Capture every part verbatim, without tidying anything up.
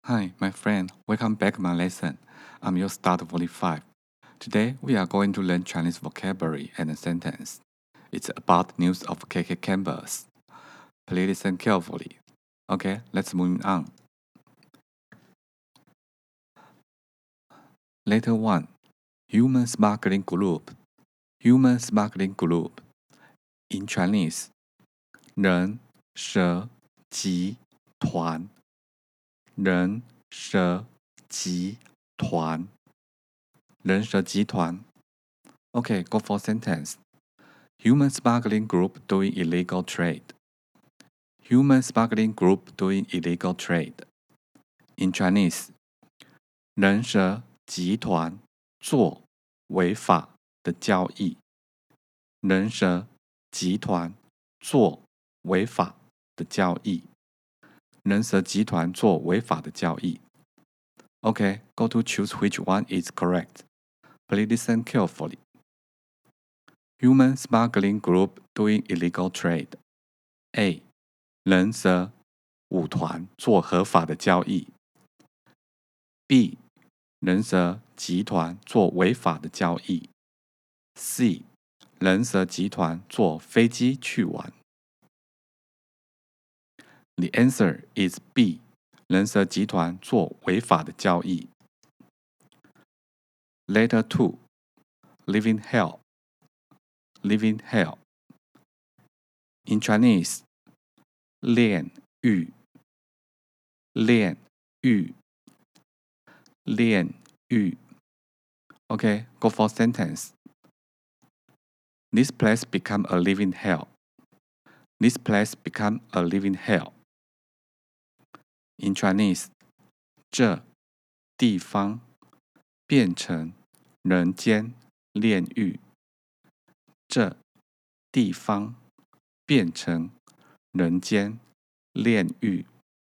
Hi, my friend. Welcome back to my lesson. I'm your start forty-five. Today, we are going to learn Chinese vocabulary and a sentence. It's about news of K K campus. Please listen carefully. Okay, let's move on. Letter one. Human smuggling group. Human smuggling group. In Chinese, 人蛇集团。人蛇集团。人蛇集团。Okay, go for sentence. Human smuggling group doing illegal trade. Human smuggling group doing illegal trade. In Chinese, 人蛇集团做违法的交易。人蛇集团做违法的交易。人蛇集团做违法的交易。Okay, go to choose which one is correct. Please listen carefully. Human smuggling group doing illegal trade. A. 人蛇舞团做合法的交易。B. 人蛇集团做违法的交易。C. 人蛇集团坐飞机去玩。The answer is B. 人蛇集团做违法的交易。Letter two. Living hell. Living hell. In Chinese, 炼狱。炼狱。炼狱。Okay, go for sentence. This place become a living hell. This place become a living hell. In Chinese, 这地方变成人间炼狱。这地方变成人间炼狱。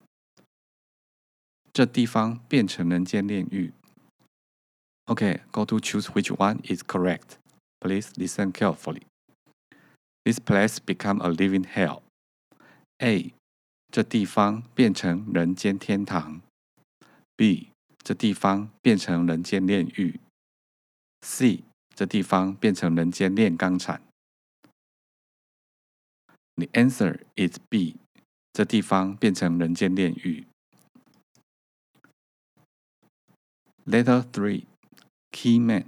这地方变成人间炼狱。Okay, go to choose which one is correct. Please listen carefully. This place become a living hell. A. 这地方变成人间天堂。B. 这地方变成人间炼狱。C. 这地方变成人间炼钢厂。The answer is B. 这地方变成人间炼狱。Letter three. Key man.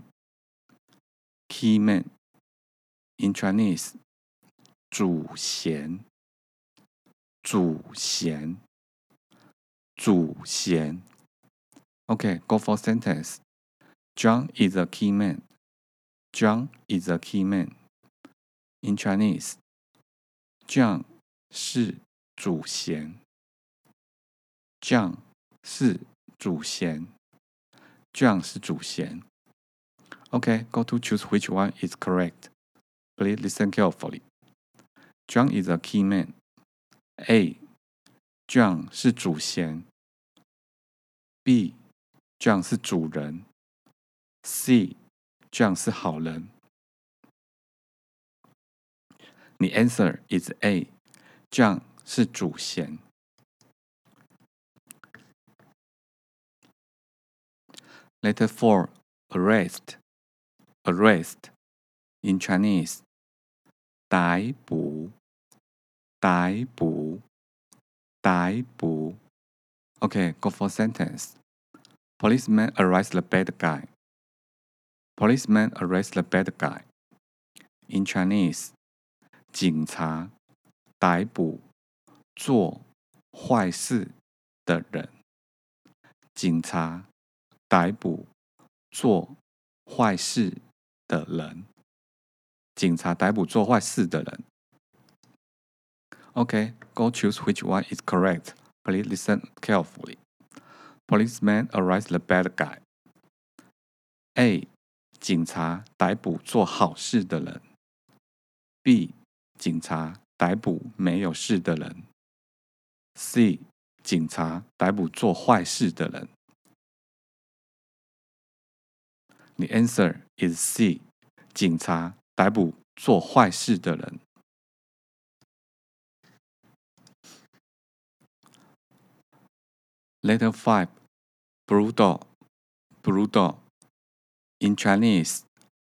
Key man. In Chinese, 主嫌。主嫌。主嫌。Okay, go for sentence. John is a key man. John is a key man. In Chinese, John 是主嫌。John 是主嫌。John 是主嫌。Okay, go to choose which one is correct. Please listen carefully. John is a key man. A. John 是主嫌。B. John 是主人。C. John 是好人。The answer is A. John 是主嫌。Letter four. Arrest. Arrest. In Chinese, 逮捕。逮捕。逮捕。Okay, go for sentence. Policeman arrest the bad guy. Policeman arrest the bad guy. In Chinese, 警察逮捕做坏事的人。警察逮捕做坏事的人。警察逮捕做坏事的人。Okay, go choose which one is correct. Please listen carefully. Policeman arrest the bad guy. A. 警察逮捕做好事的人。B. 警察逮捕没有事的人。C. 警察逮捕做坏事的人。The answer is C. 警察逮捕做坏事的人。Letter five. brutal, brutal. In Chinese,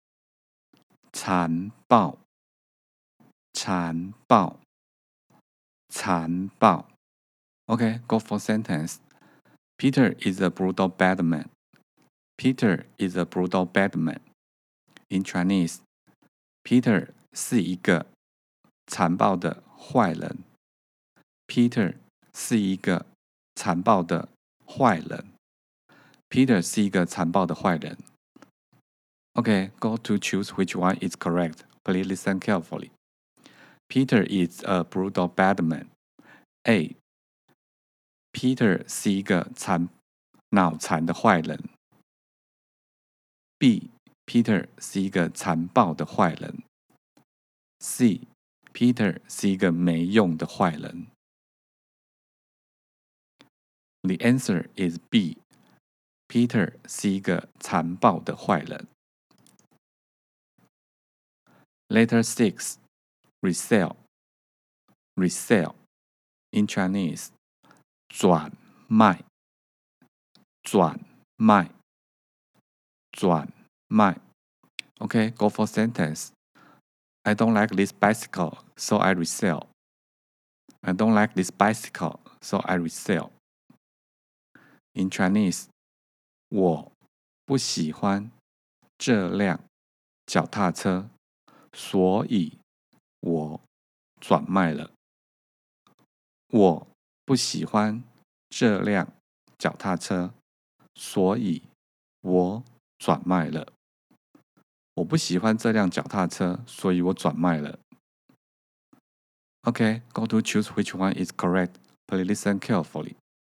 残暴，残暴，残暴。Okay, go for sentence. Peter is a brutal bad man. Peter is a brutal bad man. In Chinese, Peter 是一个残暴的坏人。Peter 是一个残暴的坏人。Peter 是一个残暴的坏人。Okay, go to choose which one is correct. Please listen carefully. Peter is a brutal bad man. A. Peter 是一个残脑残的坏人。B. Peter 是一个残暴的坏人。C. Peter 是一个没用的坏人。The answer is B. Peter 是一个残暴的坏人。Letter six. Resell. Resell. In Chinese, 转卖，转卖，转卖。Okay, go for sentence. I don't like this bicycle, so I resell. I don't like this bicycle, so I resell. In Chinese, 我不喜欢这辆脚踏车，所以我转卖了。我不喜欢这辆脚踏车，所以我转卖了。我不喜欢这辆脚踏车，所以我转卖了。Okay, go to choose which one is correct. Please listen carefully.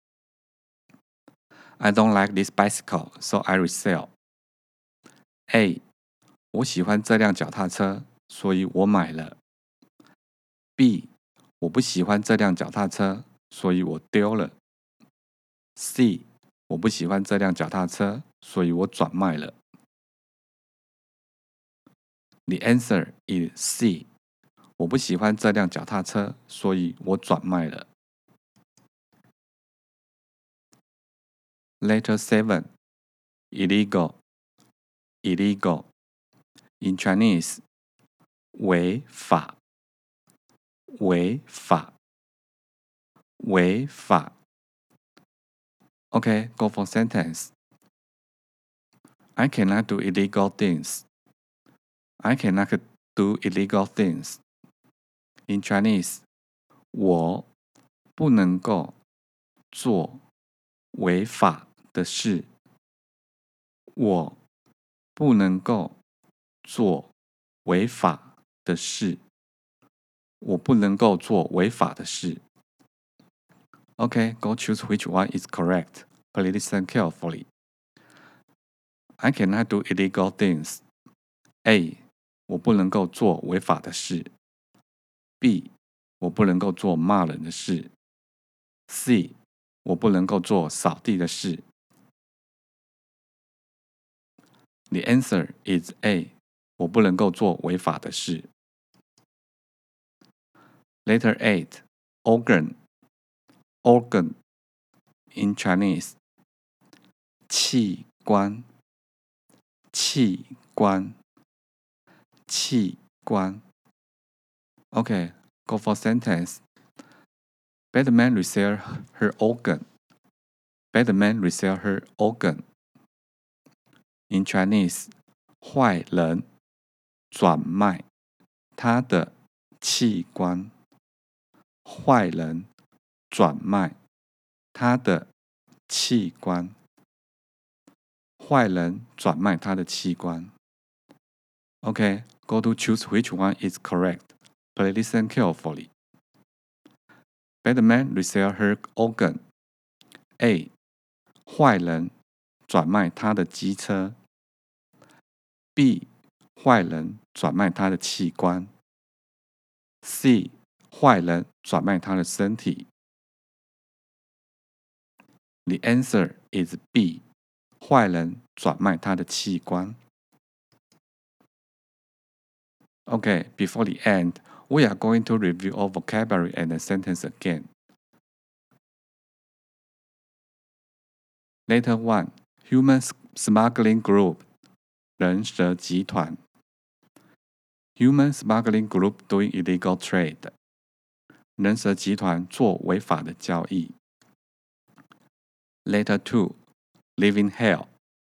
I don't like this bicycle, so I resell. A. 我喜欢这辆脚踏车，所以我买了。B. 我不喜欢这辆脚踏车，所以我丢了。C. 我不喜欢这辆脚踏车，所以我转卖了。The answer is C. 我不喜欢这辆脚踏车，所以我转卖了。Letter seven. Illegal. Illegal. In Chinese, 违法，违法，违法。Okay, go for sentence. I cannot do illegal things. I cannot do illegal things. In Chinese, 我不能够做违法的事。我不能够做违法的事。我不能够做违法的事。Okay, go choose which one is correct. Please listen carefully. I cannot do illegal things. A. 我不能够做违法的事。B. 我不能够做骂人的事。C. 我不能够做扫地的事。The answer is A. 我不能够做违法的事。Letter eight. Organ. Organ. In Chinese, 器官，器官，器官。Okay, go for sentence. Bad man resell her organ. Bad man resell her organ. In Chinese, 坏人转卖他的器官。坏人转卖他的器官。坏人转卖他的器官。Okay, go to choose which one is correct. Please listen carefully. Bad man resell her organ. A. 坏人转卖他的机车。B. 坏人转卖他的器官。C. 坏人转卖他的身体。The answer is B. 坏人转卖他的器官。Okay, before the end, we are going to review our vocabulary and the sentence again. Letter one, human smuggling group, 人蛇集团。Human smuggling group doing illegal trade. 人蛇集团做违法的交易。Letter two, living hell.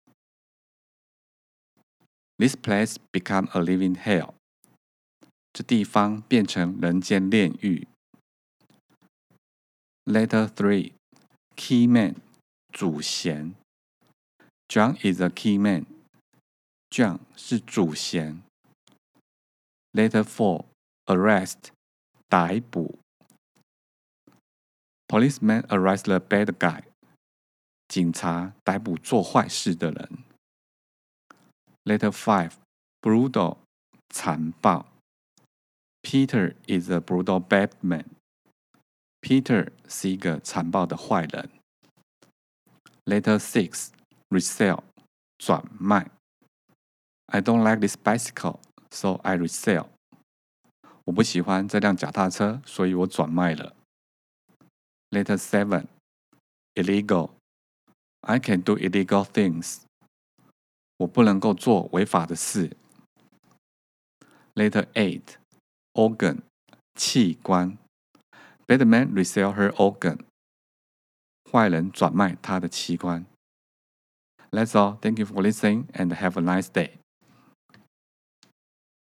This place become a living hell. 这地方变成人间炼狱。Letter three, key man, 主嫌。John is a key man. John 是主嫌。Letter four, arrest, 逮捕。Policeman arrest the bad guy. 警察逮捕做坏事的人。Letter five, brutal, 残暴。Peter is a brutal bad man. Peter 是一个残暴的坏人。Letter six, resell, 转卖。I don't like this bicycle, so I resell. 我不喜欢这辆脚踏车，所以我转卖了。Letter seven, illegal. I can do illegal things. 我不能够做违法的事。Letter eight, organ, 器官。Bad man resell her organ. 坏人转卖他的器官。That's all. Thank you for listening and have a nice day.